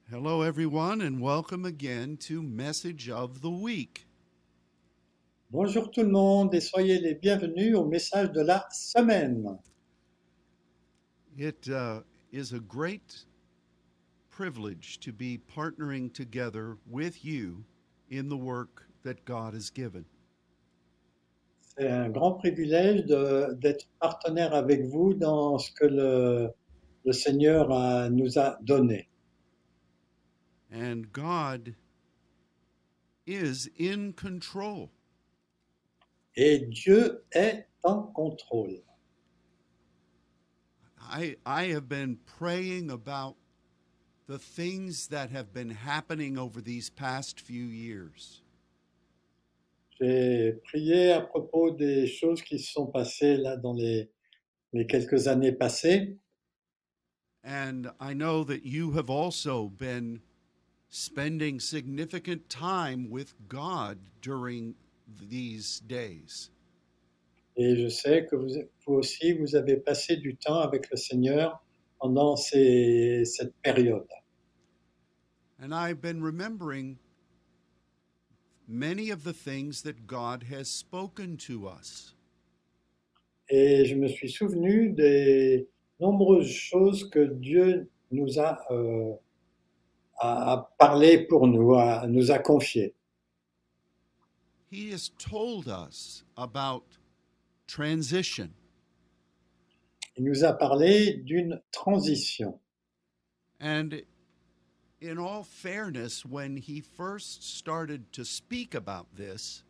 Hello, everyone, and welcome again to Message of the Week. Bonjour tout le monde et soyez les bienvenus au message de la semaine. It is a great privilege to be partnering together with you in the work that God has given. C'est un grand privilège d'être partenaire avec vous dans ce que le Seigneur nous a donné. And God is in control. Et Dieu est en contrôle. I have been praying about the things that have been happening over these past few years. J'ai prié à propos des choses qui se sont passées là dans les quelques années passées. And I know that you have also been spending significant time with God during these days. Et je sais que vous aussi, vous avez passé du temps avec le Seigneur pendant cette période. And I've been remembering many of the things that God has spoken to us. Et je me suis souvenu des nombreuses choses que Dieu nous a parlé pour nous, nous a confiées. He has told us about transition. Il nous a parlé d'une transition. And in all fairness, when he first started to speak about this,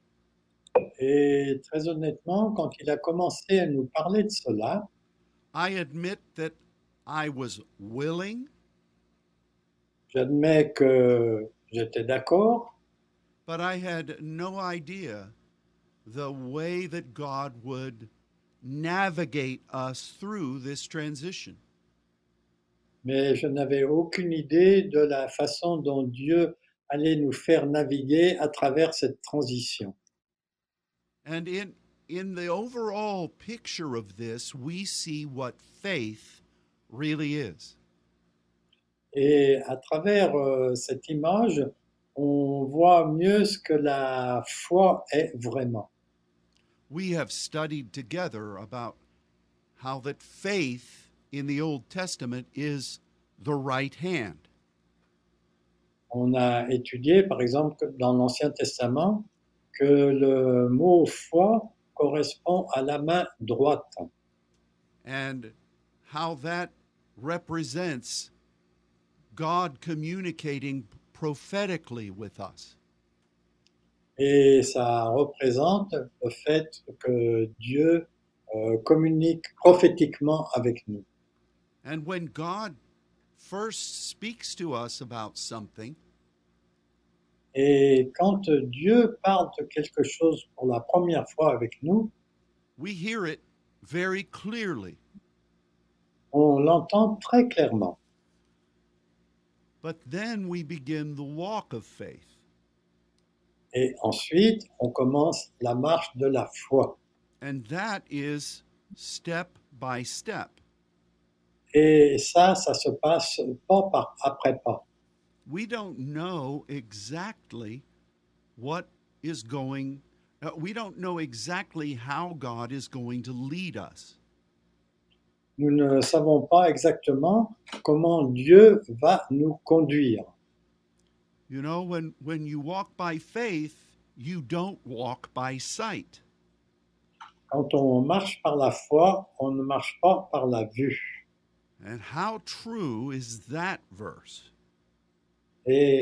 Et très honnêtement, quand il a commencé à nous parler de cela, I admit that I was willing, j'admets que j'étais d'accord, but I had no idea the way that God would navigate us through this transition. mais je n'avais aucune idée de la façon dont Dieu allait nous faire naviguer à travers cette transition. And in the overall picture of this, we see what faith really is. Et à travers cette image, on voit mieux ce que la foi est vraiment. We have studied together about how that faith in the Old Testament is the right hand. On a étudié, par exemple, que dans l'Ancien Testament, que le mot foi correspond à la main droite And how that represents God communicating prophetically with us. et ça représente le fait que Dieu communique prophétiquement avec nous. And when God first speaks to us about something, Et quand Dieu parle de quelque chose pour la première fois avec nous, we hear it very clearly. on l'entend très clairement. But then we begin the walk of faith. Et ensuite, on commence la marche de la foi. And that is step by step. Et ça se passe pas par après pas. We don't know exactly what is going, we don't know exactly how God is going to lead us. Nous ne savons pas exactement comment Dieu va nous conduire. You know, when you walk by faith, you don't walk by sight. Quand on marche par la foi, on ne marche pas par la vue. And how true is that verse? Et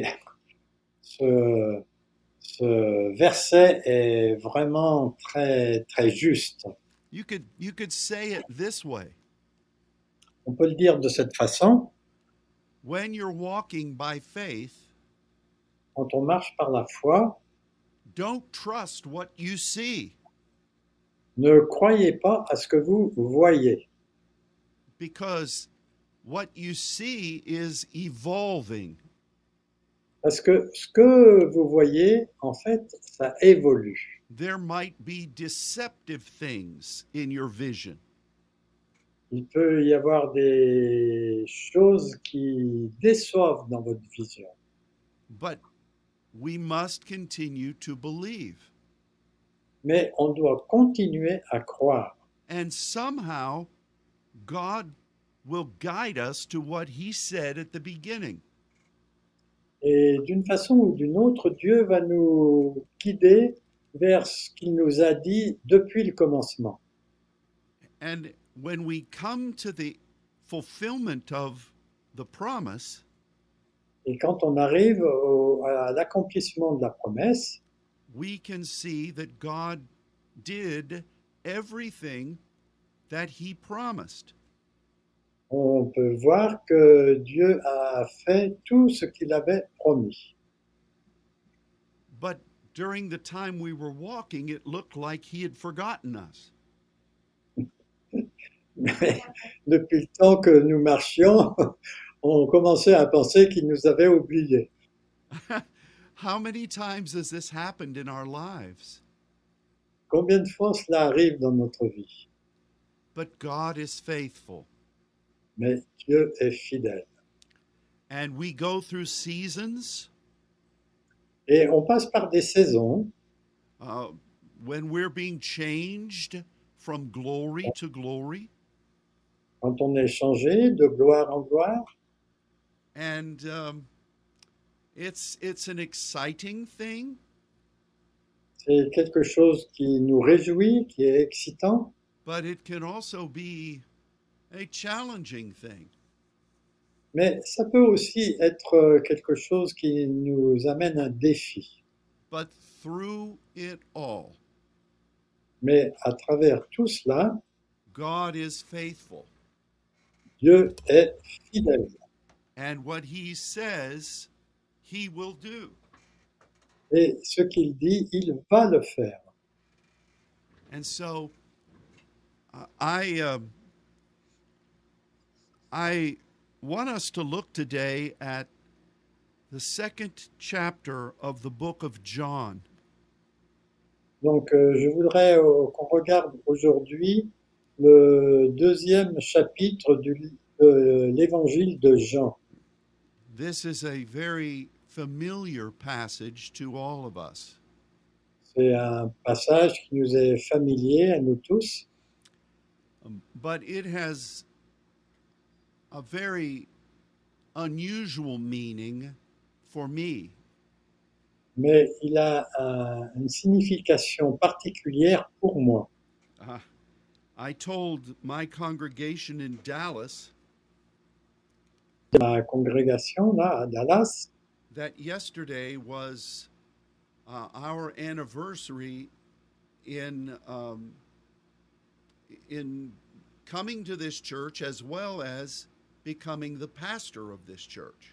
ce verset est vraiment très, très juste. You could say it this way. On peut le dire de cette façon, When you're walking by faith, quand on marche par la foi, don't trust what you see, ne croyez pas à ce que vous voyez. because what you see is evolving. Parce que ce que vous voyez, en fait, ça évolue. There might be deceptive things in your vision. il peut y avoir des choses qui déçoivent dans votre vision. but we must continue to believe. Mais on doit continuer à croire. And somehow, God will guide us to what He said at the beginning. Et d'une façon ou d'une autre, Dieu va nous guider vers ce qu'il nous a dit depuis le commencement. And when we come to the fulfillment of the promise, Et quand on arrive à l'accomplissement de la promesse, we can see that God did everything that He promised. on peut voir que Dieu a fait tout ce qu'il avait promis. But during the time we were walking, it looked like He had forgotten us. Mais depuis le temps que nous marchions, on commençait à penser qu'il nous avait oubliés. How many times has this happened in our lives? Combien de fois cela arrive dans notre vie? But God is faithful. Mais Dieu est fidèle. And we go through seasons Et on passe par des saisons when we're being changed from glory to glory. quand on est changé de gloire en gloire. And it's an exciting thing, C'est quelque chose qui nous réjouit, qui est excitant, but it can also be a challenging thing. mais ça peut aussi être quelque chose qui nous amène un défi. But through it all, Mais à travers tout cela, God is faithful. Dieu est fidèle. And what He says, He will do. Et ce qu'il dit, il va le faire. And so I want us to look today at the second chapter of the book of John. Donc, je voudrais qu'on regarde aujourd'hui le deuxième chapitre de l'évangile de Jean. This is a very familiar passage to all of us. C'est un passage qui nous est familier à nous tous, But it has a very unusual meaning for me. mais il a une signification particulière pour moi. I told my congregation in Dallas Ma congrégation, là, à Dallas, that yesterday was our anniversary in coming to this church as well as becoming the pastor of this church.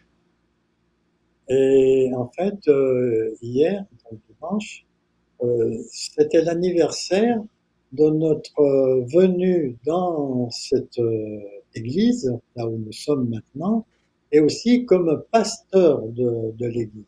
et en fait, hier, donc dimanche, c'était l'anniversaire de notre venue dans cette église, là où nous sommes maintenant, et aussi comme pasteur de l'église.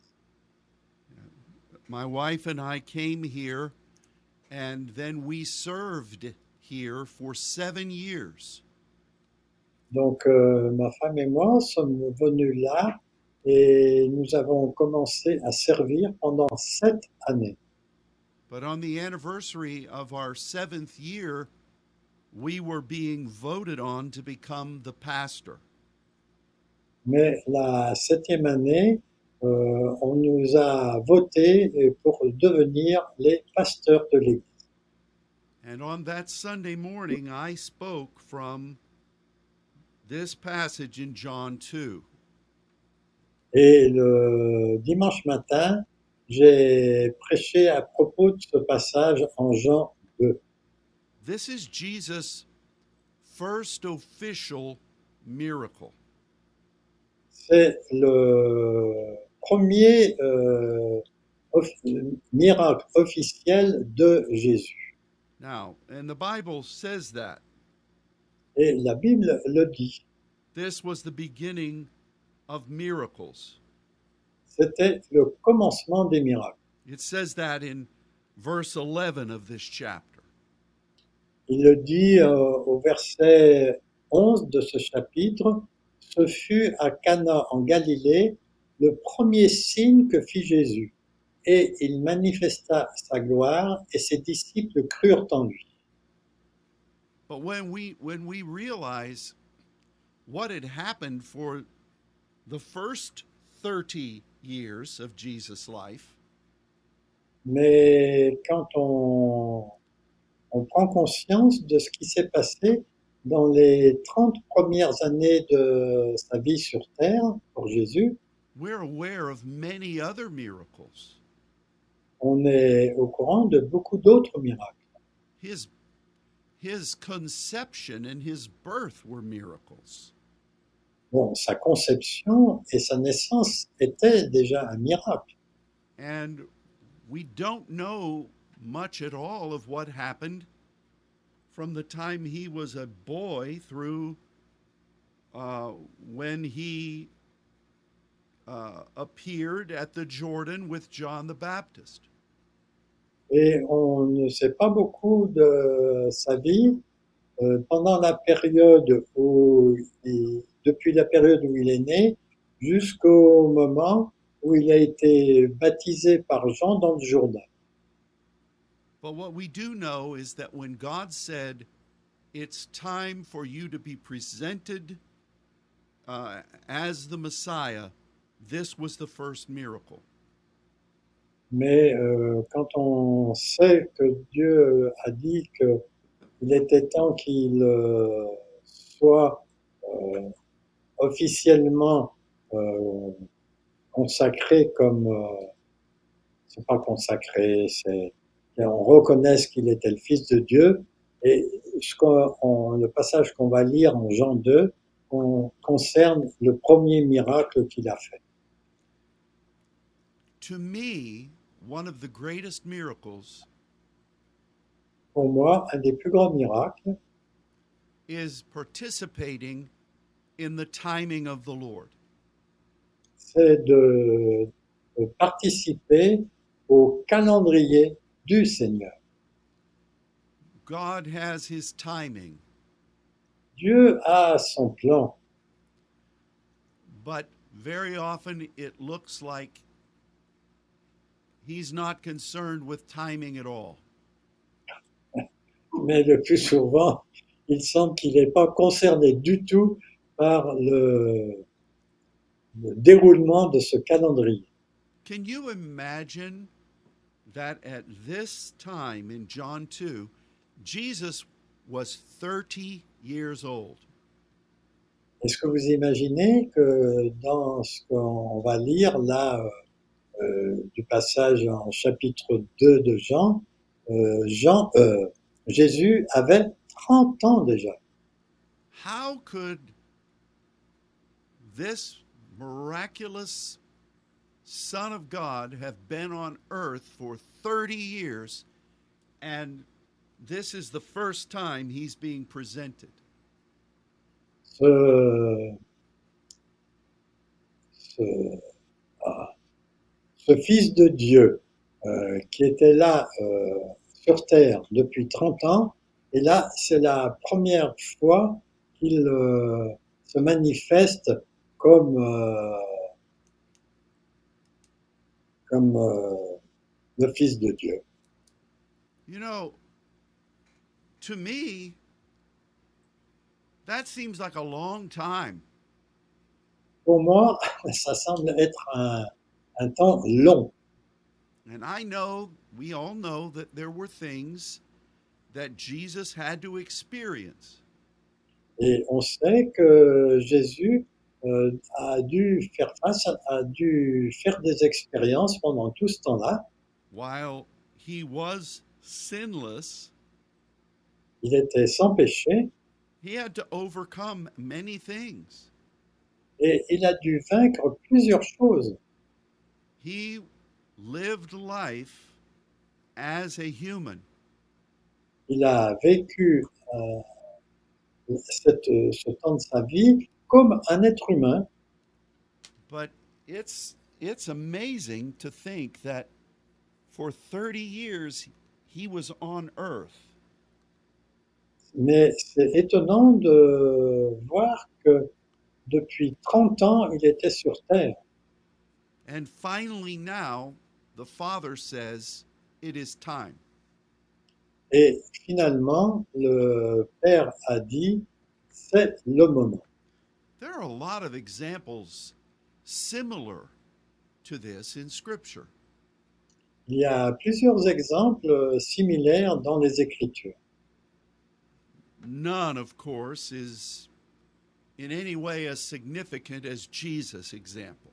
My wife and I came here, and then we served here for 7 years. Donc, ma femme et moi sommes venus là et nous avons commencé à servir pendant 7 années. But on the anniversary of our 7th year, we were being voted on to become the pastor. Mais la 7e année, on nous a voté pour devenir les pasteurs de l'église. And on that Sunday morning, I spoke from this passage in John 2. Et le dimanche matin, j'ai prêché à propos de ce passage en Jean 2. This is Jesus' first official miracle. C'est le premier miracle officiel de Jésus. Now, and the Bible says that. Et la Bible le dit. This was the beginning of miracles. C'était le commencement des miracles. It says that in verse 11 of this chapter. Il le dit au verset 11 de ce chapitre, ce fut à Cana en Galilée le premier signe que fit Jésus, et il manifesta sa gloire, et ses disciples crurent en lui. But when we realize what had happened for the first 30 years of Jesus' life, Mais quand on prend conscience de ce qui s'est passé dans les 30 premières années de sa vie sur terre pour Jésus, we're aware of many other miracles. on est au courant de beaucoup d'autres miracles. His his conception and his birth were miracles. Bon, sa conception et sa naissance étaient déjà un miracle. And we don't know much at all of what happened from the time he was a boy through when he appeared at the Jordan with John the Baptist. Et on ne sait pas beaucoup de sa vie pendant la période depuis la période où il est né jusqu'au moment où il a été baptisé par Jean dans le Jourdain. But what we do know is that when God said, it's time for you to be presented as the Messiah, this was the first miracle. Mais quand on sait que Dieu a dit qu'il était temps qu'il soit officiellement consacré comme, c'est pas consacré, c'est qu'on reconnaisse qu'il était le Fils de Dieu. Et le passage qu'on va lire en Jean 2 concerne le premier miracle qu'il a fait. To me, one of the greatest miracles Pour moi, un des plus grands miracles, is participating in the timing of the Lord. c'est de participer au calendrier du Seigneur. God has his timing, Dieu a son plan, but very often it looks like he's not concerned with timing at all. mais le plus souvent, il semble qu'il n'est pas concerné du tout par le déroulement de ce calendrier. Can you imagine that at this time in John 2, Jesus was 30 years old? Est-ce que vous imaginez que dans ce qu'on va lire là, du passage en chapitre 2 de Jean, Jésus avait 30 ans déjà. How could this miraculous Son of God have been on earth for 30 years, and this is the first time he's being presented? Ce, ce, ce Fils de Dieu qui était là sur terre depuis 30 ans, et là, c'est la première fois qu'il se manifeste comme, le Fils de Dieu. You know, to me, that seems like a long time. Pour moi, ça semble être un temps long. And I know, we all know that there were things that Jesus had to experience. Et on sait que Jésus a dû faire des expériences pendant tout ce temps-là. While he was sinless, Il était sans péché he had to overcome many things. et il a dû vaincre plusieurs choses. He lived life as a human, Il a vécu ce temps de sa vie comme un être humain. but it's amazing to think that for 30 years he was on earth. Mais c'est étonnant de voir que depuis 30 ans, il était sur Terre. And finally, now, the Father says, it is time. Et finalement, le Père a dit, c'est le moment. There are a lot of examples similar to this in Scripture. Il y a plusieurs exemples similaires dans les Écritures. None, of course, is in any way as significant as Jesus' example.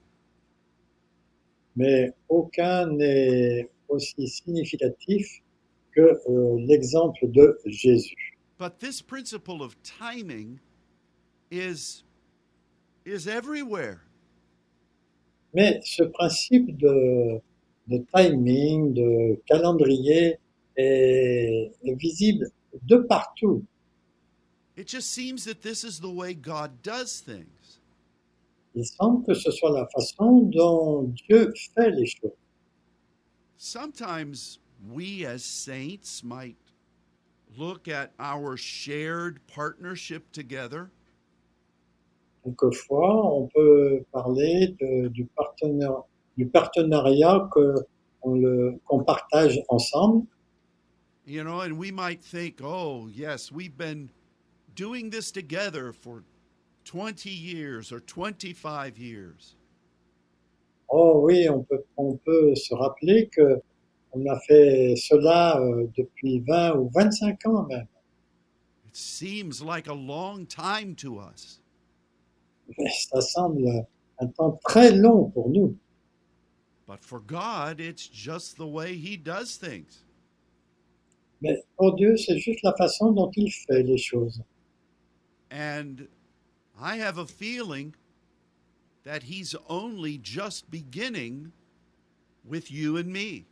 Mais aucun n'est aussi significatif que l'exemple de Jésus. But this principle of timing is everywhere. Mais ce principe de timing, de calendrier est visible de partout. It just seems that this is the way God does things. Il semble que ce soit la façon dont Dieu fait les choses. Sometimes we as saints might look at our shared partnership together Quelquefois, on peut parler du partenariat qu'on partage ensemble. and we might think, oh, yes, we've been doing this together for 20 years or 25 years. Oh oui, on peut se rappeler que on a fait cela depuis 20 ou 25 ans même. It seems like a long time to us. Mais ça semble un temps très long pour nous. But for God, it's just the way He does things. Mais pour Dieu, c'est juste la façon dont il fait les choses. And I have a feeling that He's only just beginning with you and me.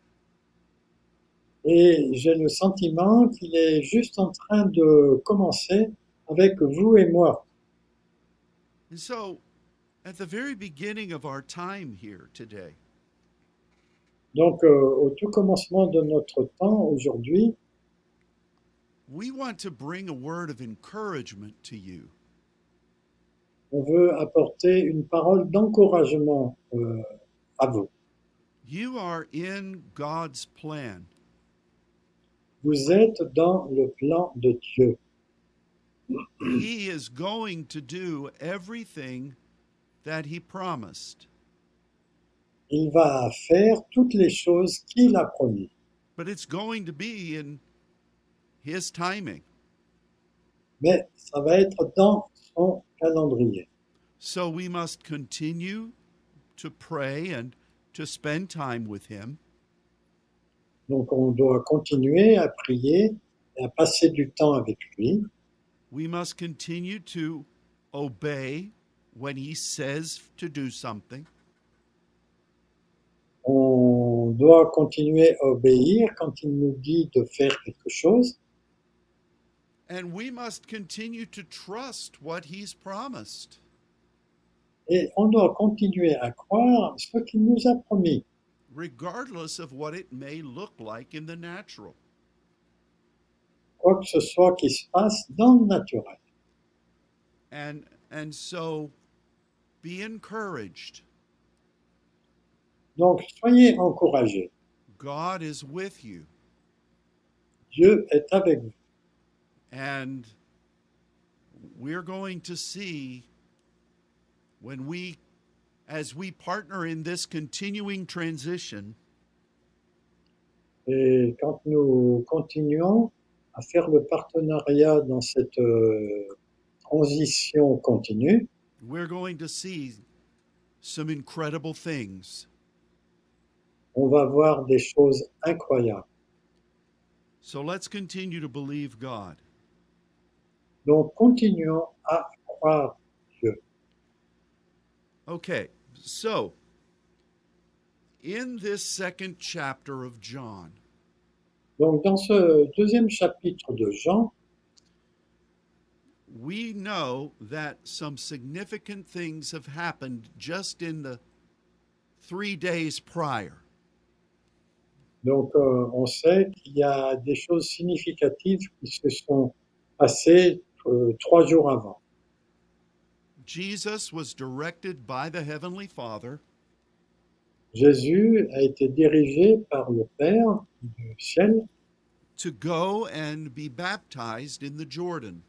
Et j'ai le sentiment qu'il est juste en train de commencer avec vous et moi. And so, at the very beginning of our time here today, Donc, au tout commencement de notre temps aujourd'hui, we want to bring a word of encouragement to you. on veut apporter une parole d'encouragement à vous. You are in God's plan. Vous êtes dans le plan de Dieu. He is going to do everything that He promised. Il va faire toutes les choses qu'il a promis. But it's going to be in His timing. Mais ça va être dans son calendrier. So we must continue to pray and to spend time with Him. Donc on doit continuer à prier et à passer du temps avec lui. We must continue to obey when He says to do something. On doit continuer à obéir quand il nous dit de faire quelque chose. And we must continue to trust what He's promised. Et on doit continuer à croire ce qu'il nous a promis, regardless of what it may look like in the natural. quoi que ce soit qui se passe dans le naturel. And so be encouraged. Donc, soyez encouragés. God is with you. Dieu est avec vous. And we're going to see as we partner in this continuing transition, Et quand nous continuons à faire le partenariat dans cette transition continue, we're going to see some incredible things. on va voir des choses incroyables. So let's continue to believe God. Donc, continuons à croire Dieu. Okay, so in this second chapter of John, Donc, dans ce deuxième chapitre de Jean, we know that some significant things have happened just in the 3 days prior. donc on sait qu'il y a des choses significatives qui se sont passé 3 jours avant. Jesus was directed by the Heavenly Father Jésus a été dirigé par le Père du ciel to go and be baptized in the Jordan.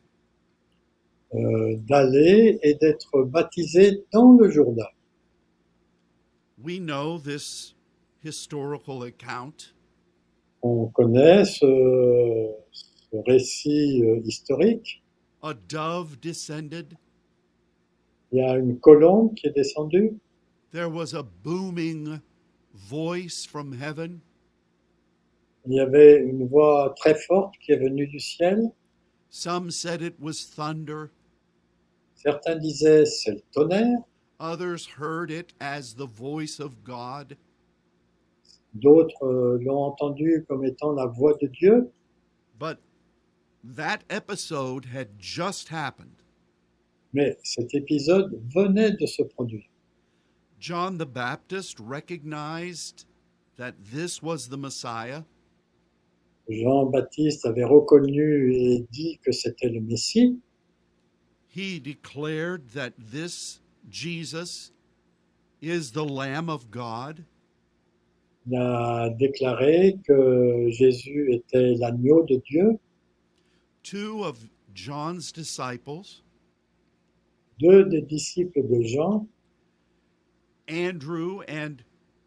d'aller et d'être baptisé dans le Jourdain. We know this historical account. On connaît ce récit historique. A dove descended. Il y a une colombe qui est descendue. There was a booming voice from heaven. Il y avait une voix très forte qui est venue du ciel. Some said it was thunder. Certains disaient c'est le tonnerre. Others heard it as the voice of God. D'autres l'ont entendu comme étant la voix de Dieu. But that episode had just happened. Mais cet épisode venait de se produire. John the Baptist recognized that this was the Messiah. Jean-Baptiste avait reconnu et dit que c'était le Messie. He declared that this Jesus is the Lamb of God. Il a déclaré que Jésus était l'agneau de Dieu. Two of John's disciples, 2 des disciples de Jean, Andrew and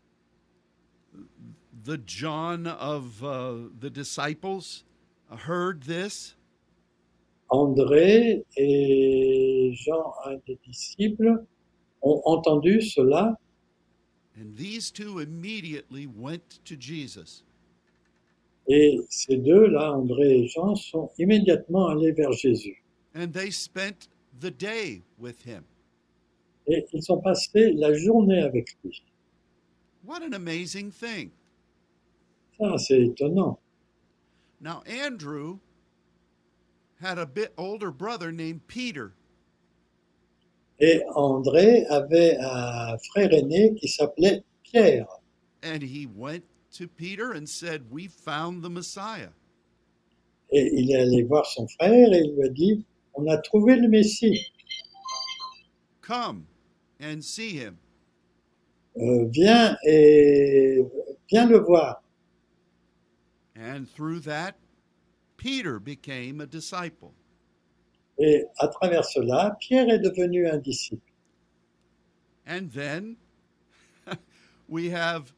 the John of the disciples, heard this. André et Jean, un des disciples, ont entendu cela And these two immediately went to Jesus. et ces deux-là, André et Jean, sont immédiatement allés vers Jésus. And they spent the day with him. Et ils ont passé la journée avec lui. What an amazing thing. Ça, c'est étonnant. Now, Andrew had a bit older brother named Peter. Et André avait un frère aîné qui s'appelait Pierre. And he went to Peter and said, "We found the Messiah." Et il est allé voir son frère et il lui a dit, on a trouvé le Messie. Come and see him. Viens le voir. And through that, Peter became a disciple. Et à travers cela, Pierre est devenu un disciple. And then we have,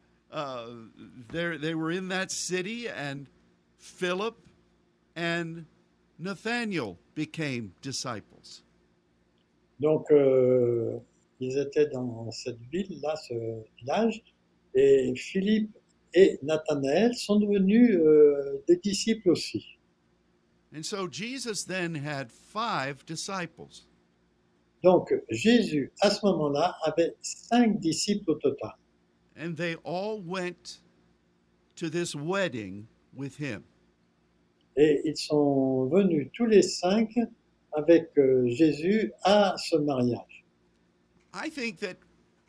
they were in that city, and Philip and Nathanael became disciples. Donc, ils étaient dans cette ville-là, ce village, et Philippe et Nathanaël sont devenus des disciples aussi. And so Jesus then had 5 disciples. Donc, Jésus, à ce moment-là, avait 5 disciples au total. And they all went to this wedding with him. Et ils sont venus tous les 5 avec Jésus à ce mariage. I think that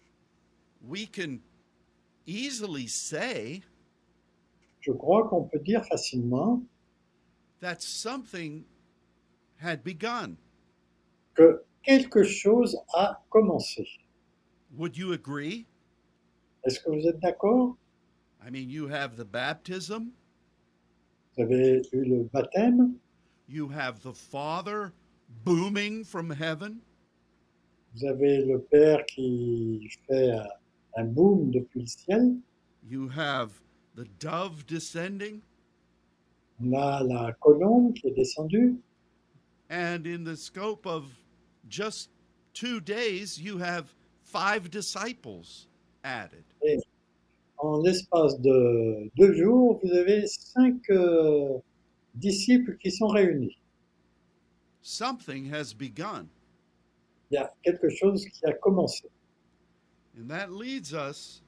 we can easily say Je crois qu'on peut dire facilement that something had begun. que quelque chose a commencé. Would you agree? Est-ce que vous êtes d'accord? I mean, you have the baptism, Vous avez eu le baptême, you have the Father booming from heaven, vous avez le Père qui fait un boom depuis le ciel, you have the dove descending, on a la colombe qui est descendue, and in the scope of just 2 days, you have 5 disciples added. et en l'espace de 2 jours, vous avez 5 disciples qui sont réunis. Something has begun. Il y a quelque chose qui a commencé. And that leads us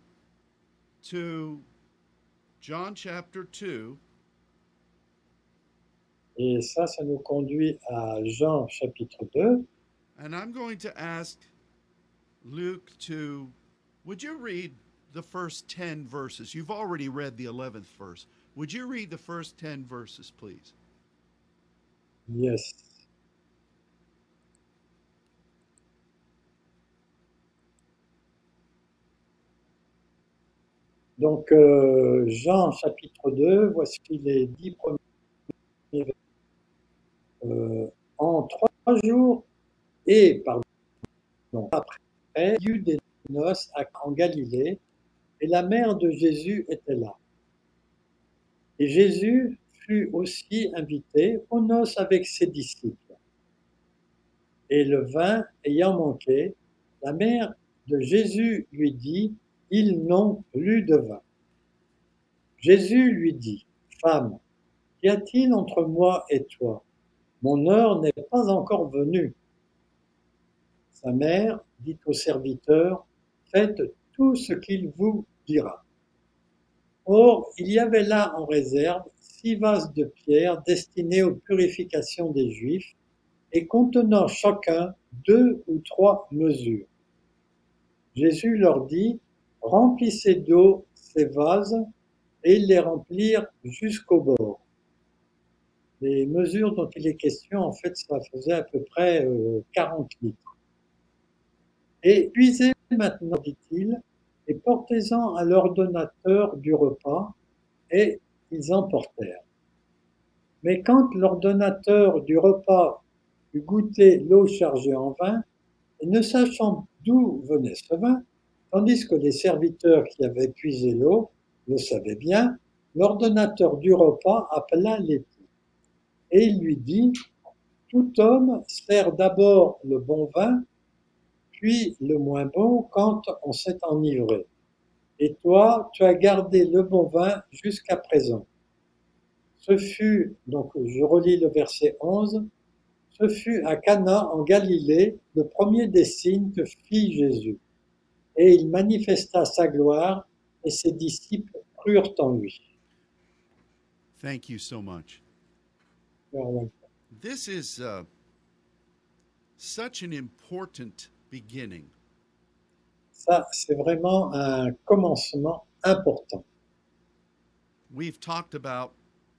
to John chapter 2. Et ça nous conduit à Jean chapitre 2. And I'm going to ask Luke to, would you read the first 10 verses? You've already read the 11th verse. Would you read the first 10 verses, please? Yes. Donc, Jean chapitre 2, voici les 10 premiers versets. En 3 jours, et pardon, après, il y eut des noces en Galilée, et la mère de Jésus était là. Et Jésus fut aussi invité aux noces avec ses disciples. Et le vin ayant manqué, la mère de Jésus lui dit, ils n'ont plus de vin. Jésus lui dit, femme, qu'y a-t-il entre moi et toi? Mon heure n'est pas encore venue. Sa mère dit au serviteur, faites tout ce qu'il vous dira. Or, il y avait là en réserve 6 vases de pierre destinés aux purifications des Juifs et contenant chacun 2 ou 3 mesures. Jésus leur dit, remplissez d'eau ces vases, et ils les remplirent jusqu'au bord. Les mesures dont il est question, en fait, ça faisait à peu près 40 litres. Et puisez maintenant, dit-il, et portez-en à l'ordonnateur du repas, et ils en portèrent. Mais quand l'ordonnateur du repas eut goûté l'eau chargée en vin, et ne sachant d'où venait ce vin, tandis que les serviteurs qui avaient puisé l'eau le savaient bien, l'ordonnateur du repas appela l'époux. Et il lui dit, tout homme sert d'abord le bon vin, puis le moins bon quand on s'est enivré. Et toi, tu as gardé le bon vin jusqu'à présent. Ce fut, donc je relis le verset 11, ce fut à Cana en Galilée le premier des signes que fit Jésus. Et il manifesta sa gloire et ses disciples crurent en lui. Thank you so much. Voilà. This is such an important beginning. Ça, c'est vraiment un commencement important. We've talked about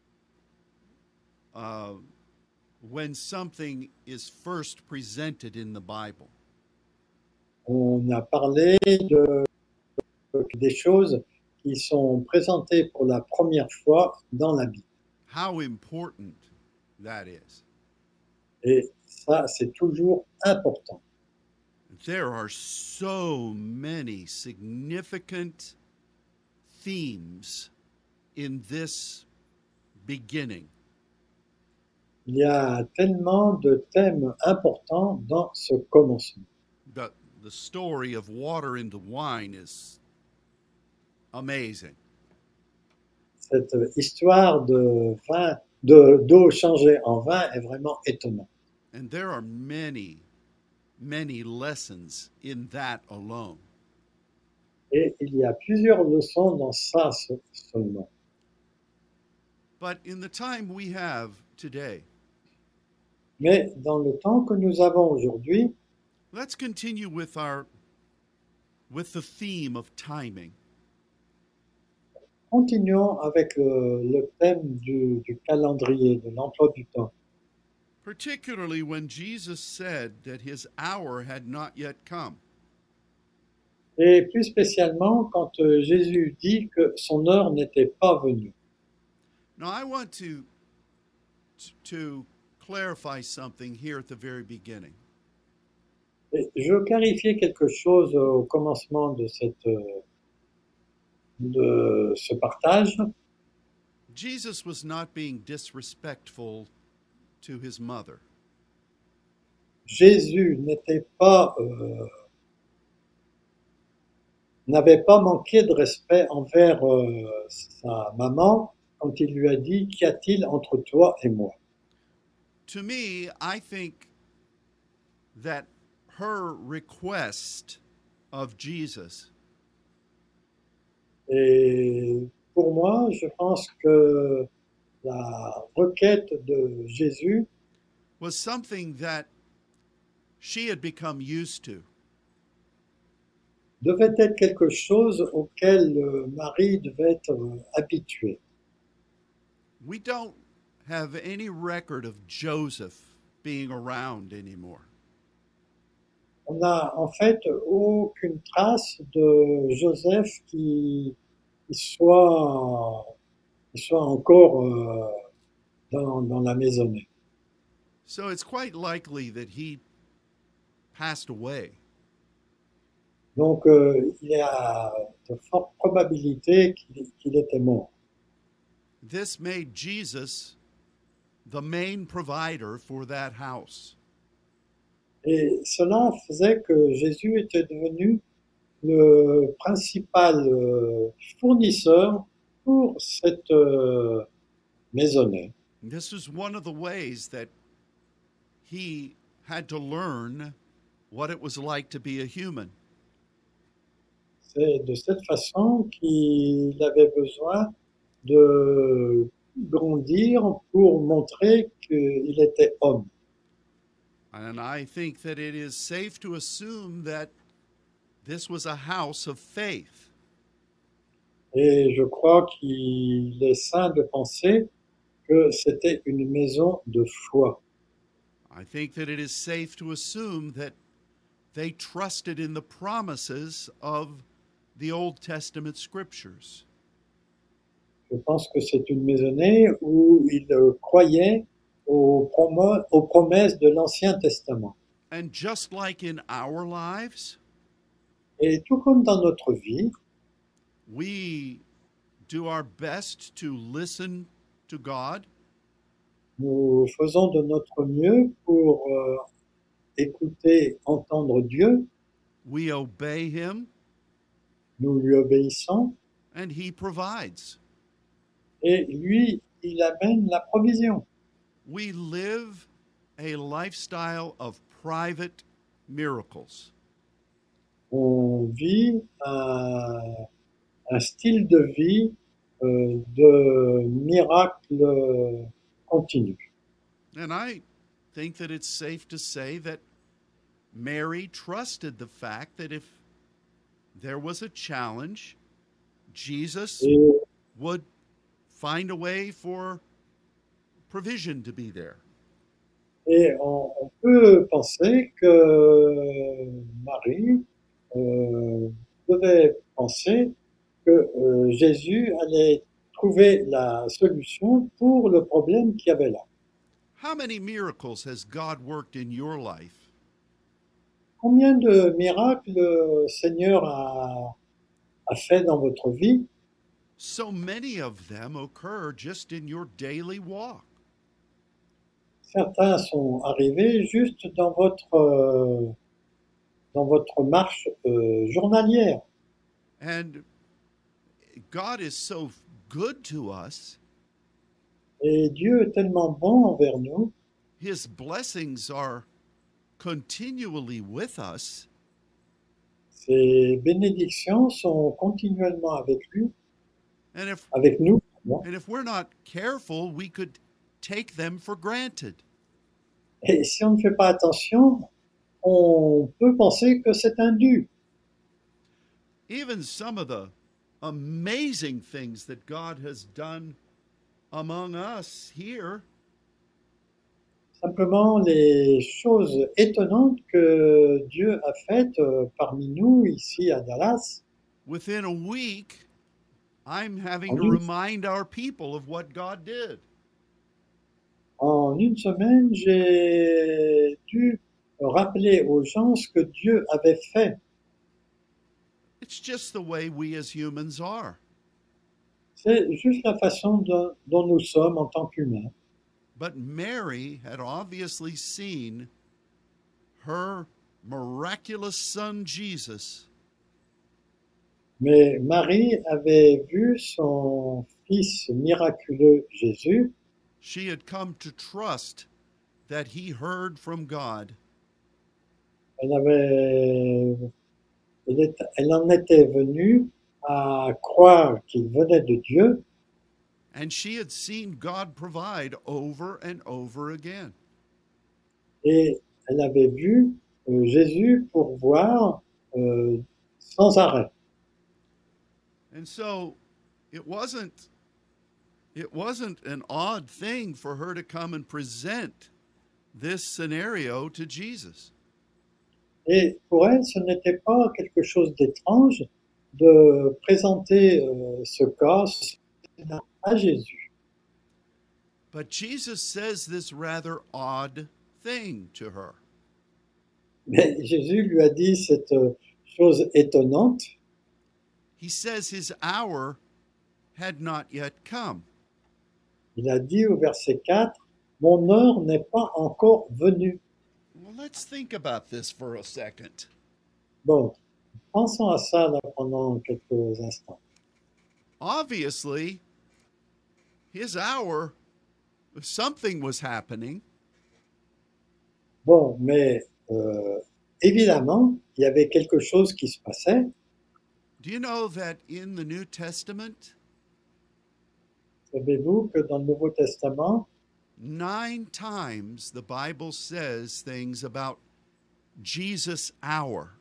uh, when something is first presented in the Bible. On a parlé des choses qui sont présentées pour la première fois dans la Bible. How important that is. Et ça, c'est toujours important. There are so many significant themes in this beginning. Il y a tellement de thèmes importants dans ce commencement. The story of water into wine is amazing. Cette histoire de vin, d'eau changée en vin est vraiment étonnante. And there are many, many lessons in that alone. Et il y a plusieurs leçons dans ça seulement. But in the time we have today, Mais dans le temps que nous avons aujourd'hui, let's continue with the theme of timing. continuons avec le thème du calendrier, de l'emploi du temps. Particularly when Jesus said that his hour had not yet come. Et plus spécialement quand Jésus dit que son heure n'était pas venue. Now, I want to clarify something here at the very beginning. Et je veux clarifier quelque chose au commencement de ce partage. Jesus was not being disrespectful to his mother. Jésus n'avait pas manqué de respect envers sa maman quand il lui a dit, qu'y a-t-il entre toi et moi? To me, I think that her request of Jesus Et pour moi, je pense que la requête de Jésus was something that she had become used to. devait être quelque chose auquel Marie devait être habituée. We don't have any record of Joseph being around anymore. On n'a en fait aucune trace de Joseph qui soit, qui soit encore dans la maisonnée. So it's quite likely that he passed away. Donc il y a de fortes probabilités qu'il était mort. This made Jesus the main provider for that house. Et cela faisait que Jésus était devenu le principal fournisseur pour cette maisonnée. This was one of the ways that he had to learn what it was like to be a human. C'est de cette façon qu'il avait besoin de grandir pour montrer qu'il était homme. And I think that it is safe to assume that this was a house of faith. Et je crois qu'il est sain de penser que c'était une maison de foi. I think that it is safe to assume that they trusted in the promises of the Old Testament scriptures. Je pense que c'est une maisonnée où il croyait aux promesses de l'Ancien Testament. And just like in our lives, Et tout comme dans notre vie, we do our best to listen to God, nous faisons de notre mieux pour écouter, entendre Dieu, we obey Him, nous lui obéissons, and He provides. et lui, il amène la provision. We live a lifestyle of private miracles. On vit un style de vie de miracle continu. And I think that it's safe to say that Mary trusted the fact that if there was a challenge, Jesus Et, would find a way for provision to be there. et on peut penser que Marie devait penser que Jésus allait trouver la solution pour le problème qu'il y avait là. How many miracles has God worked in your life? Combien de miracles le Seigneur a fait dans votre vie? So many of them occur just in your daily walk. Certains sont arrivés juste dans votre marche journalière. And God is so good to us. Et Dieu est tellement bon envers nous, His blessings are continually with us. ses bénédictions sont continuellement avec lui, And if avec nous. Pardon. and if we're not careful, we could take them for granted. Et si on ne fait pas attention, on peut penser que c'est un dû. Even some of the amazing things that God has done among us here, Simplement les choses étonnantes que Dieu a faites parmi nous ici à Dallas. within a week, I'm having En to une, remind our people of what God did. en une semaine, j'ai dû rappeler aux gens ce que Dieu avait fait. It's just the way we as humans are. C'est juste la façon dont nous sommes en tant qu'humains. But Mary had obviously seen her miraculous son Jesus Mais Marie avait vu son fils miraculeux Jésus. she had come to trust that he heard from God. Elle en était venue à croire qu'il venait de Dieu. And she had seen God provide over and over again. Et elle avait vu Jésus pourvoir sans arrêt. And so it wasn't It wasn't an odd thing for her to come and present this scenario to Jesus. Et pour elle, ce n'était pas quelque chose d'étrange de présenter ce cas à Jésus. But Jesus says this rather odd thing to her. Mais Jésus lui a dit cette chose étonnante. He says his hour had not yet come. Il a dit au verset 4, « Mon heure n'est pas encore venue. Well, let's think about this for a second. » Bon, pensons à ça là, pendant quelques instants. Obviously, his hour, something was happening. Bon, mais évidemment, il y avait quelque chose qui se passait. Do you know that in the New Testament, Savez-vous que dans le Nouveau Testament, 9 times the Bible says things about Jesus' hour.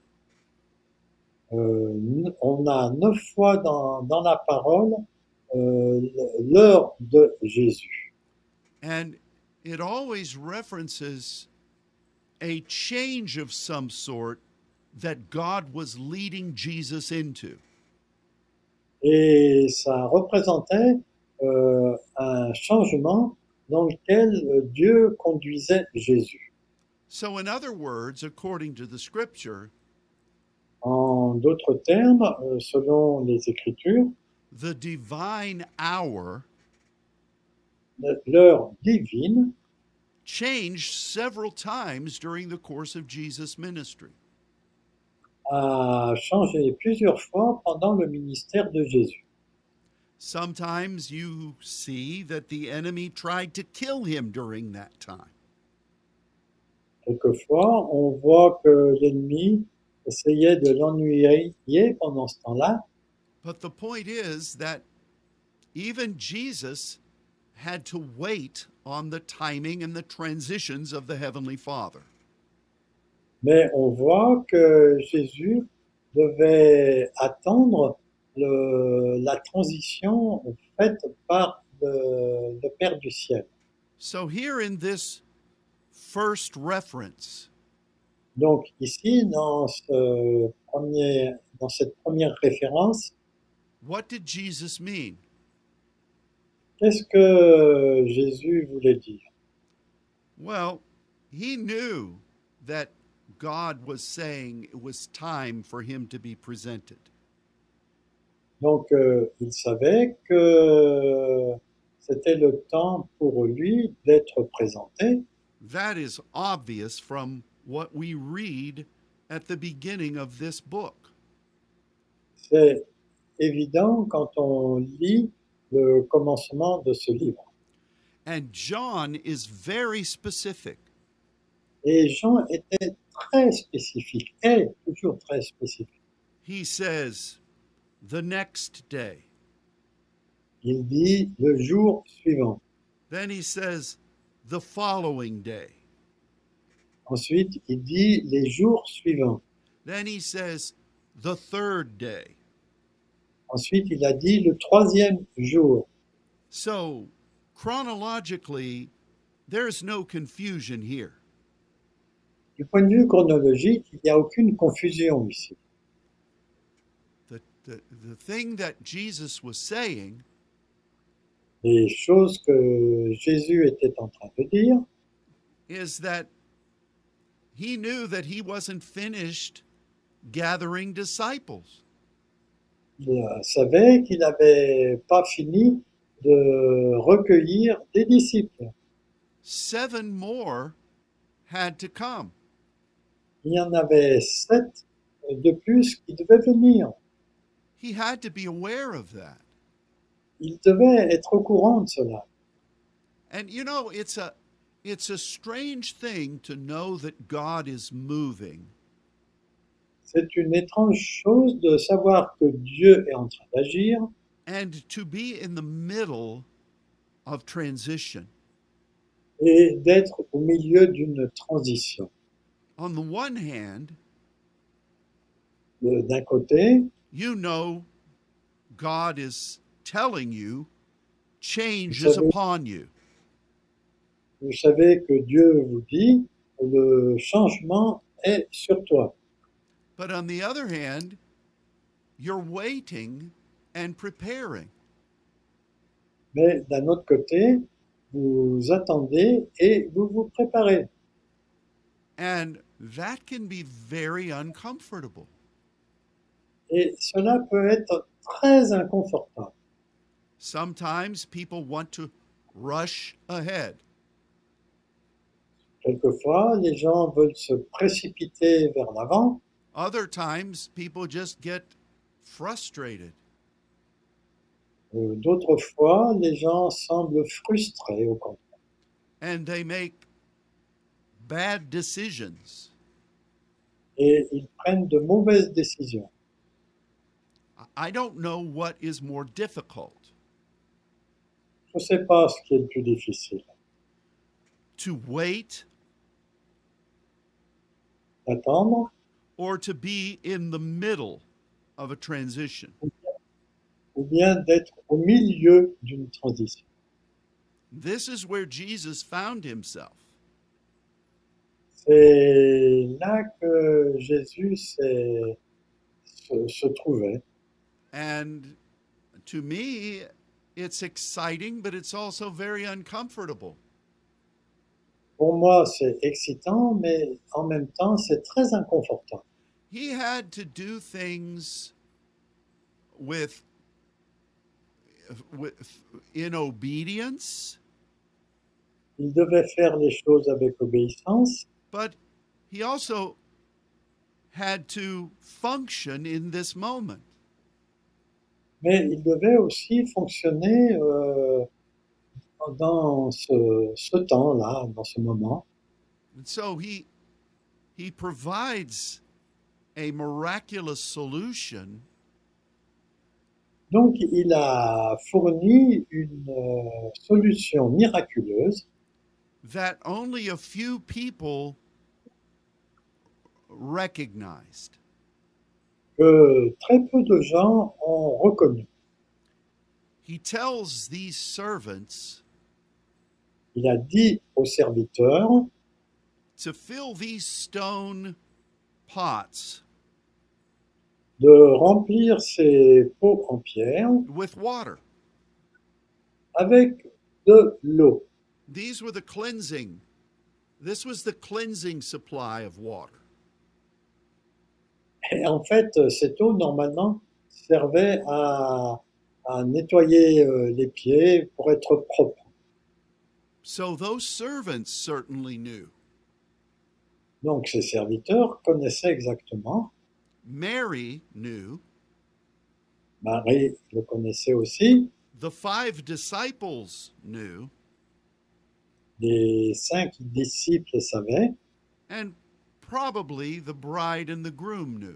On a 9 fois dans la parole l'heure de Jésus. And it always references a change of some sort that God was leading Jesus into. Et ça représentait un changement dans lequel Dieu conduisait Jésus. So, in other words, according to the scripture, En d'autres termes, selon les Écritures, the divine hour l'heure divine changed several times during the course of Jesus' ministry. a changé plusieurs fois pendant le ministère de Jésus. Sometimes you see that the enemy tried to kill him during that time. Quelquefois, on voit que l'ennemi essayait de l'ennuyer pendant ce temps-là, But the point is that even Jesus had to wait on the timing and the transitions of the Heavenly Father. mais on voit que Jésus devait attendre la transition faite par le Père du ciel. So, here in this first reference, Donc ici, dans cette première référence, what did Jesus mean? qu'est-ce que Jésus voulait dire? Well, he knew that God was saying it was time for him to be presented. Donc il savait que c'était le temps pour lui d'être présenté. That is obvious from what we read at the beginning of this book. C'est évident quand on lit le commencement de ce livre. And John is very specific. Et Jean était très spécifique, est toujours très spécifique. He says, the next day. Il dit le jour suivant. Then he says, the following day. Ensuite, il dit les jours suivants. Then he says, the third day. Ensuite, il a dit le troisième jour. So, chronologically, there's no confusion here. Du point de vue chronologique, il n'y a aucune confusion ici. The thing that Jesus was saying Les choses que Jésus était en train de dire, is that he knew that he wasn't finished gathering disciples. il savait qu'il n'avait pas fini de recueillir des disciples. 7 more had to come. Il y en avait 7 de plus qui devaient venir. He had to be aware of that. Il devait être au courant de cela. And you know, it's a strange thing to know that God is moving C'est une étrange chose de savoir que Dieu est en train d'agir and to be in the middle of transition. et d'être au milieu d'une transition. On the one hand, D'un côté, you know God is telling you change Vous is savez, upon you. vous savez que Dieu vous dit, le changement est sur toi. But on the other hand, you're waiting and preparing. Mais d'un autre côté, vous attendez et vous vous préparez. And that can be very uncomfortable. Et cela peut être très inconfortable. Sometimes people want to rush ahead. Quelquefois, les gens veulent se précipiter vers l'avant. Other times, people just get frustrated. D'autres fois, les gens semblent frustrés au contraire. And they make bad decisions. Et ils prennent de mauvaises décisions. I don't know what is more difficult, Je ne sais pas ce qui est le plus difficile. to wait D'attendre or to be in the middle of a transition. ou bien d'être au milieu d'une transition. This is where Jesus found himself. C'est là que Jésus se trouvait. And to me, it's exciting, but it's also very uncomfortable. Pour moi, c'est excitant, mais en même temps, c'est très inconfortable. He had to do things with in obedience, Il devait faire les choses avec obéissance, but he also had to function in this moment. mais il devait aussi fonctionner dans ce temps-là, dans ce moment. And so he provides a miraculous solution Donc, il a fourni une solution miraculeuse that only a few people recognized. que très peu de gens ont reconnu. He tells these servants Il a dit aux serviteurs to fill these stone pots de remplir ces pots en pierre with water. avec de l'eau. These were the cleansing. This was the cleansing supply of water. Et en fait, cette eau, normalement, servait à nettoyer les pieds pour être propre. So those servants certainly knew. Donc, ces serviteurs connaissaient exactement. Mary knew. Marie le connaissait aussi. The 5 disciples knew. Les 5 disciples savaient. And probably the bride and the groom knew.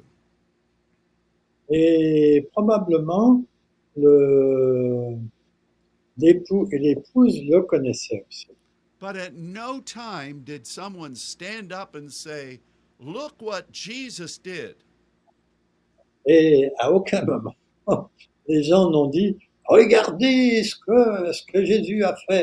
Et probablement, l'époux et l'épouse le connaissaient aussi. But at no time did someone stand up and say, "Look what Jesus did." Et à aucun moment, les gens n'ont dit « Regardez ce que Jésus a fait ».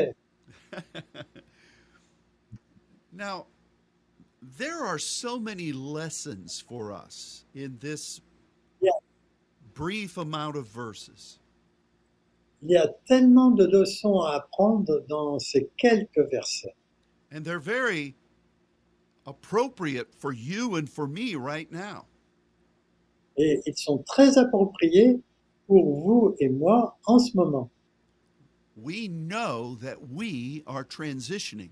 Now, there are so many lessons for us in this Yeah. brief amount of verses. Il y a tellement de leçons à apprendre dans ces quelques versets. And they're very appropriate for you and for me right now. Et ils sont très appropriés pour vous et moi en ce moment. We know that we are transitioning.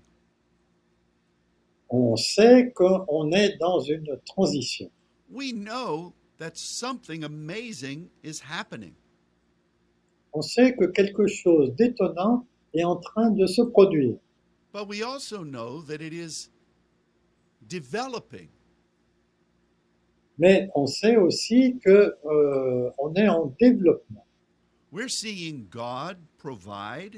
On sait qu'on est dans une transition. We know that something amazing is happening. On sait que quelque chose d'étonnant est en train de se produire. But we also know that it is developing. Mais on sait aussi que on est en développement. We're seeing God provide.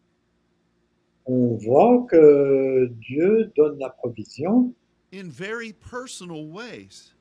On voit que Dieu donne la provision In very personal ways.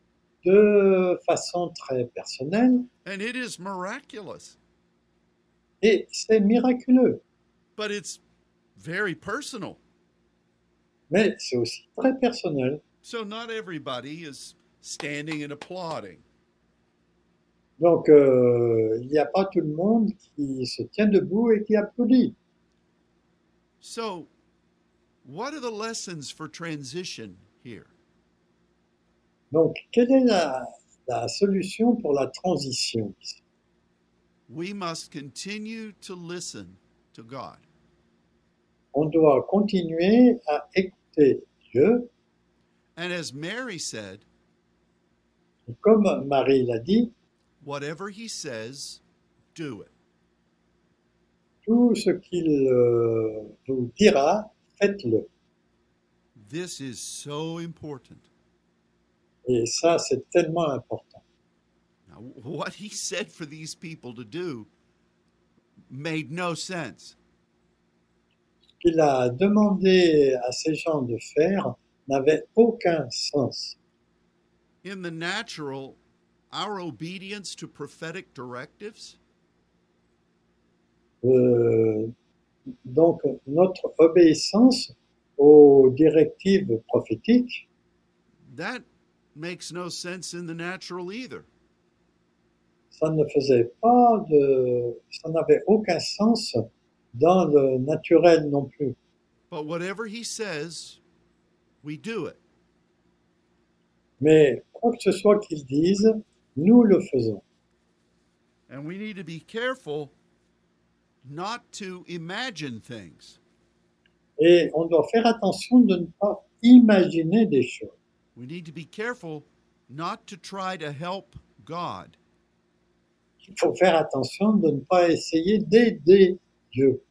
de façon très personnelle And it is miraculous. Et c'est miraculeux, but it's very personal. mais c'est aussi très personnel. So not everybody is standing and applauding. Donc, il n'y a pas tout le monde qui se tient debout et qui applaudit. So, what are the lessons for transition here? Donc, quelle est la solution pour la transition ici? We must continue to listen to God. On doit continuer à écouter Dieu. And as Mary said, Et comme Marie l'a dit, whatever he says, do it. tout ce qu'il vous dira, faites-le. This is so important. Et ça, c'est tellement important. Now, what he said for these people to do made no sense. Ce qu'il a demandé à ces gens de faire n'avait aucun sens. In the natural, our obedience to prophetic directives Donc, notre obéissance aux directives prophétiques, that makes no sense in the natural either. ça n'avait aucun sens dans le naturel non plus. But whatever he says, we do it. Mais quoi que ce soit qu'ils disent, nous le faisons. And we need to be careful not to imagine things. Et on doit faire attention de ne pas imaginer des choses. We need to be careful not to try to help God. Il faut faire attention de ne pas essayer d'aider Dieu.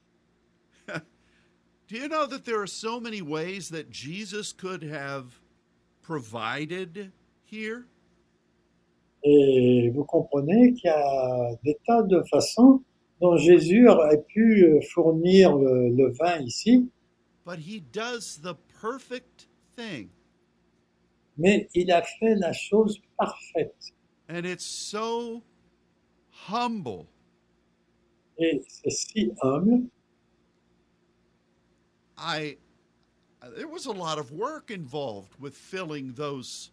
Do you know that there are so many ways that Jesus could have provided here? Et vous comprenez qu'il y a des tas de façons dont Jésus aurait pu fournir le vin ici, But he does the perfect thing. mais il a fait la chose parfaite. And it's so humble. Et c'est si humble. There was a lot of work involved with filling those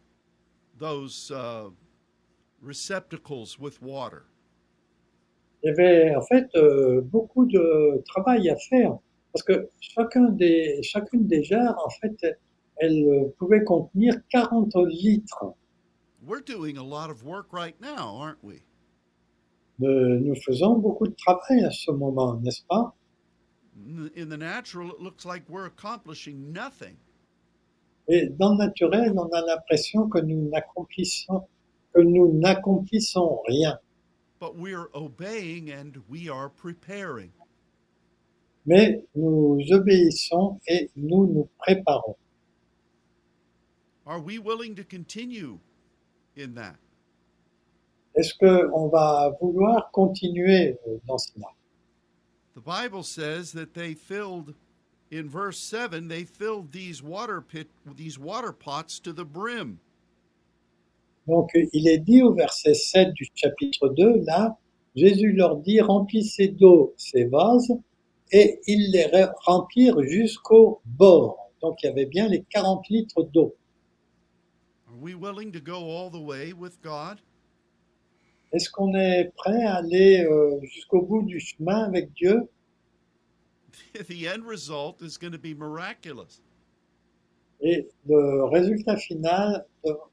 receptacles with water. Il y avait en fait beaucoup de travail à faire parce que chacune des jarres, en fait, elle pouvait contenir 40 litres. We're doing a lot of work right now, aren't we? Nous faisons beaucoup de travail à ce moment, n'est-ce pas? In the natural, it looks like we're accomplishing nothing. Et dans le naturel, on a l'impression que nous n'accomplissons rien. But we're obeying and we are preparing. Mais nous obéissons et nous nous préparons. Are we willing to continue in that? Est-ce qu'on va vouloir continuer dans cela? The Bible says that in verse 7, they filled these water pots to the brim. Donc, il est dit au verset 7 du chapitre 2, là, Jésus leur dit, remplissez d'eau ces vases, et ils les remplirent jusqu'au bord. Donc, il y avait bien les 40 litres d'eau. Are we willing to go all the way with God? Est-ce qu'on est prêt à aller jusqu'au bout du chemin avec Dieu? The end result is going to be miraculous. Et le résultat final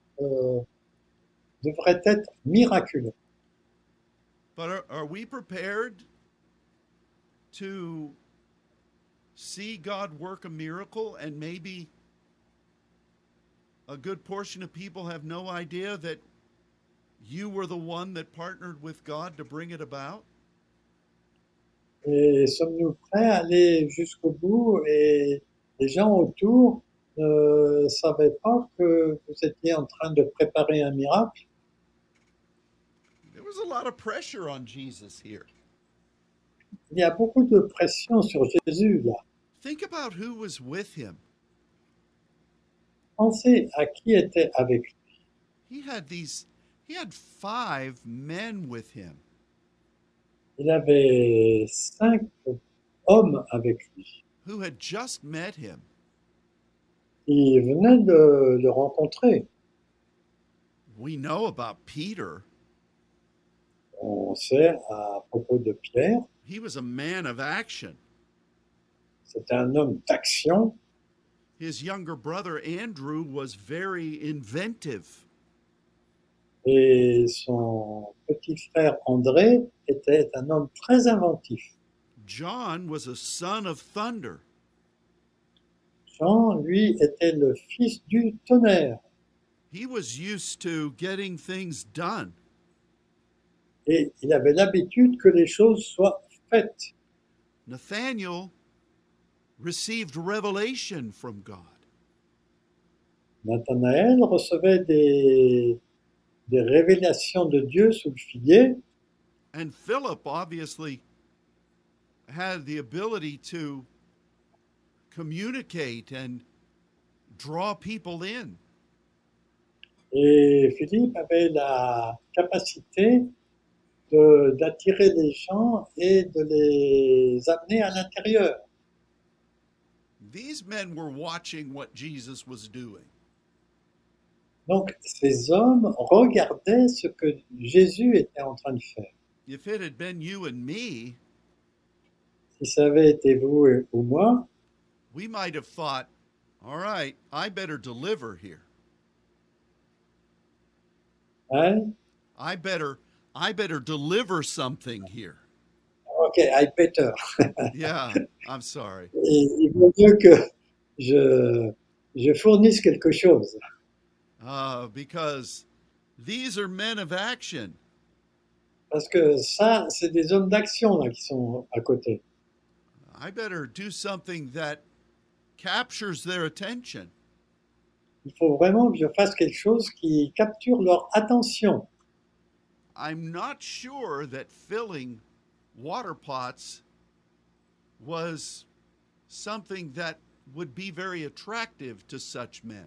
devrait être miraculeux. But are we prepared to see God work a miracle and maybe a good portion of people have no idea that you were the one that partnered with God to bring it about? Et sommes-nous prêts à aller jusqu'au bout et les gens autour ne savaient pas que vous étiez en train de préparer un miracle? There was a lot of pressure on Jesus here. Il y a beaucoup de pression sur Jésus là. Think about who was with him. Pensez à qui était avec lui. He had 5 men with him. Il avait 5 hommes avec lui. who had just met him. Il venait de le rencontrer. We know about Peter. On sait à propos de Pierre, He was a man of action. c'était un homme d'action. His younger brother Andrew was very inventive. Et son petit frère André était un homme très inventif. John was a son of thunder. Jean, lui, était le fils du tonnerre. He was used to getting things done. Et il avait l'habitude que les choses soient faites. Nathaniel received revelation from God. Nathanaël recevait des révélations de Dieu sous le figuier. And Philip obviously had the ability to communicate and draw people in. Et Philippe avait la capacité d'attirer les gens et de les amener à l'intérieur. These men were watching what Jesus was doing. Donc ces hommes regardaient ce que Jésus était en train de faire. If it had been you and me, Si ça avait été vous ou moi, we might have thought, all right, I better deliver here. hein, I better deliver something here. ok, I better. Yeah, I'm sorry. Et il vaut mieux que je fournisse quelque chose. Because these are men of action. Parce que ça, c'est des hommes d'action là, qui sont à côté. I better do something that captures their attention. Il faut vraiment que je fasse quelque chose qui capture leur attention. I'm not sure that filling water pots was something that would be very attractive to such men.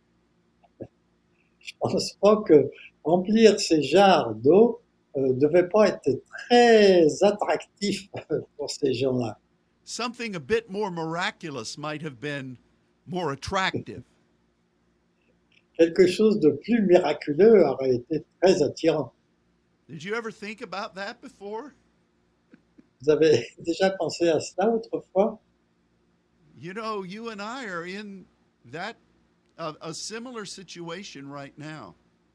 Je pense pas que remplir ces jarres d'eau devait pas être très attractif pour ces gens-là. Something a bit more miraculous might have been more attractive. Quelque chose de plus miraculeux aurait été très attirant. Did you ever think about that before? Vous avez déjà pensé à cela autrefois? You know, you and I are in that a similar situation right now.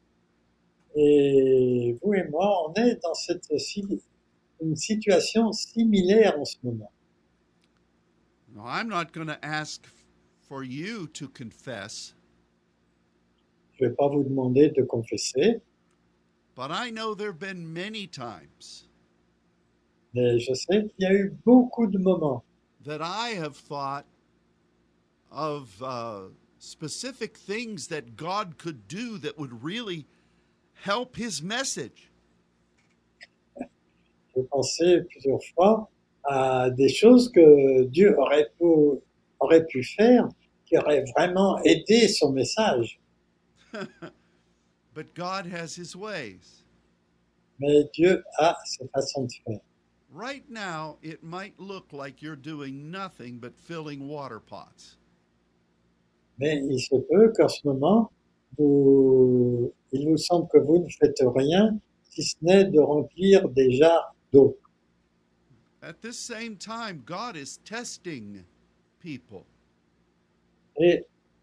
Et vous et moi, on est dans une situation similaire en ce moment. Now, I'm not going to ask for you to confess, Je ne vais pas vous demander de confesser, but I know there have been many times mais je sais qu'il y a eu beaucoup de moments that I have thought of specific things that God could do that would really help his message. j'ai pensé plusieurs fois à des choses que Dieu aurait pu faire qui auraient vraiment aidé son message. But God has his ways. Mais Dieu a ses façons de faire. Right now, it might look like you're doing nothing but filling water pots. Mais il se peut qu'en ce moment, il vous semble que vous ne faites rien si ce n'est de remplir des jarres d'eau. At this same time, God is testing people. Et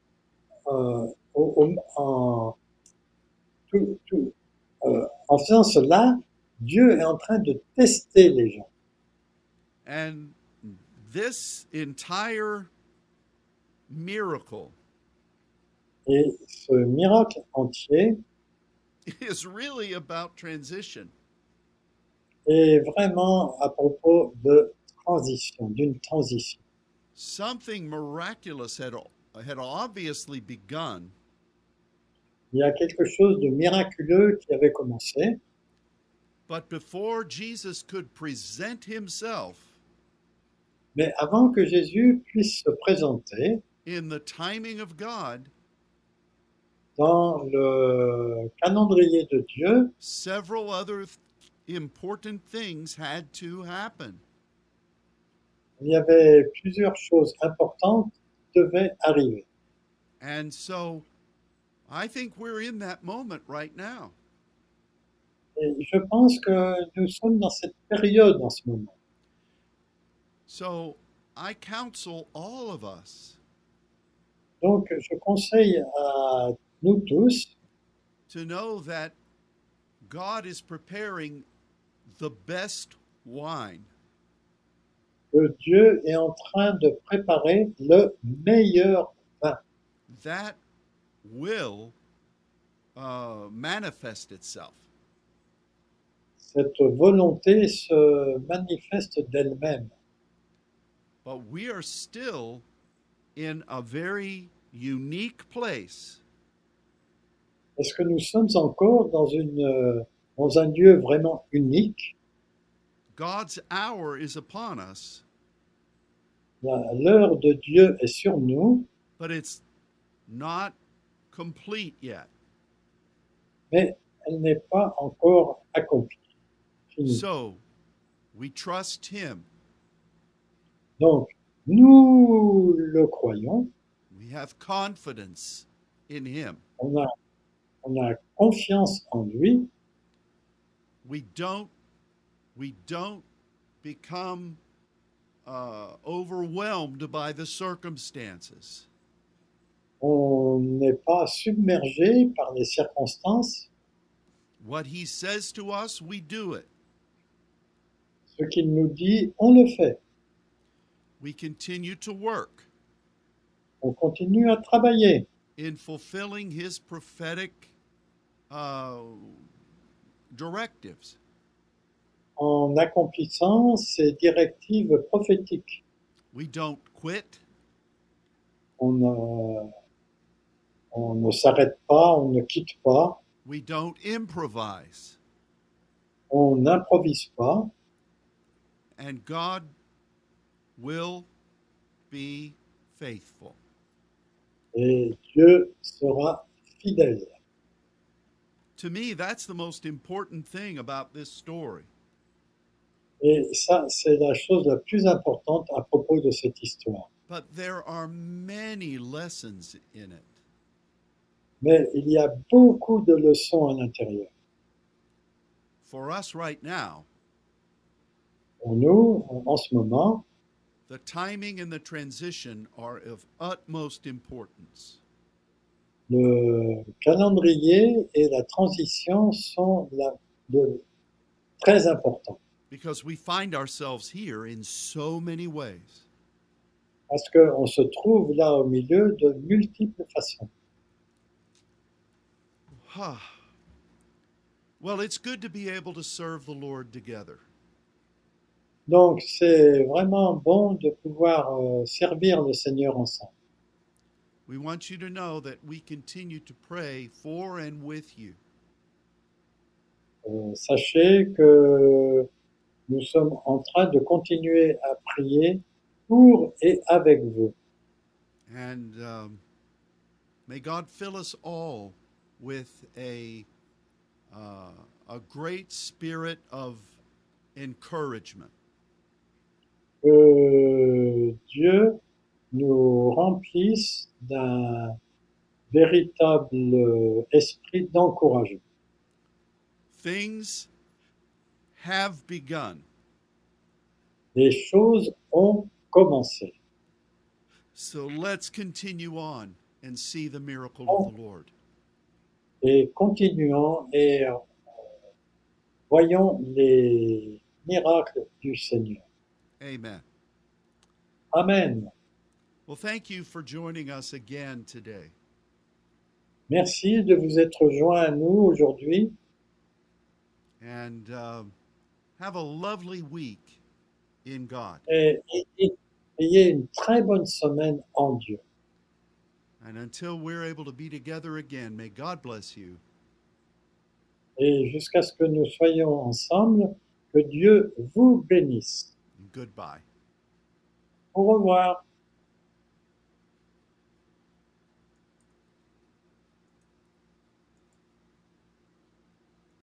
en faisant cela, Dieu est en train de tester les gens. And this entire miracle Et ce miracle entier is really about transition. est vraiment à propos de transition, d'une transition. Something miraculous had obviously begun, Il y a quelque chose de miraculeux qui avait commencé, but before Jesus could present himself mais avant que Jésus puisse se présenter in the timing of God, dans le calendrier de Dieu, several other important things had to happen. Il y avait plusieurs choses importantes qui devaient arriver. And so I think we're in that moment right now. Et je pense que nous sommes dans cette période en ce moment. So I counsel all of us Donc, je conseille à nous tous to know that God is preparing the best wine. que Dieu est en train de préparer le meilleur vin. That will manifest itself. Cette volonté se manifeste d'elle-même. But we are still in a very unique place Parce que nous sommes encore dans un lieu vraiment unique. God's hour is upon us, L'heure de Dieu est sur nous, but it's not complete yet. mais elle n'est pas encore accomplie. Finie. So we trust Him. Donc, nous le croyons, We have confidence in Him. on a confiance en lui, We don't become overwhelmed by the circumstances. on n'est pas submergé par les circonstances. What He says to us, we do it. Ce qu'il nous dit, on le fait. We continue to work On continue à travailler in fulfilling His prophetic directives. en accomplissant ces directives prophétiques. We don't quit. On ne s'arrête pas, on ne quitte pas, We don't improvise. on n'improvise pas, And God will be faithful. et Dieu sera fidèle. To me, that's the most important thing about this story. Et ça, c'est la chose la plus importante à propos de cette histoire. But there are many lessons in it. Mais il y a beaucoup de leçons à l'intérieur. For us right now, Pour nous, en ce moment, the timing and the transition are of utmost importance. le calendrier et la transition sont très importants. Because we find ourselves here in so many ways. Parce qu'on se trouve là au milieu de multiples façons. Well, it's good to be able to serve the Lord together. Donc, c'est vraiment bon de pouvoir servir le Seigneur ensemble. We want you to know that we continue to pray for and with you. Sachez que nous sommes en train de continuer à prier pour et avec vous. And may God fill us all with a great spirit of encouragement. Que Dieu nous remplisse d'un véritable esprit d'encouragement. Things have begun. Les choses ont commencé. So let's continue on and see the miracle of the Lord. Et continuons et voyons les miracles du Seigneur. Amen. Amen. Well, thank you for joining us again today. Merci de vous être joints à nous aujourd'hui And have a lovely week in God. et ayez une très bonne semaine en Dieu. And until we're able to be together again, may God bless you. Et jusqu'à ce que nous soyons ensemble, que Dieu vous bénisse. Goodbye. Au revoir.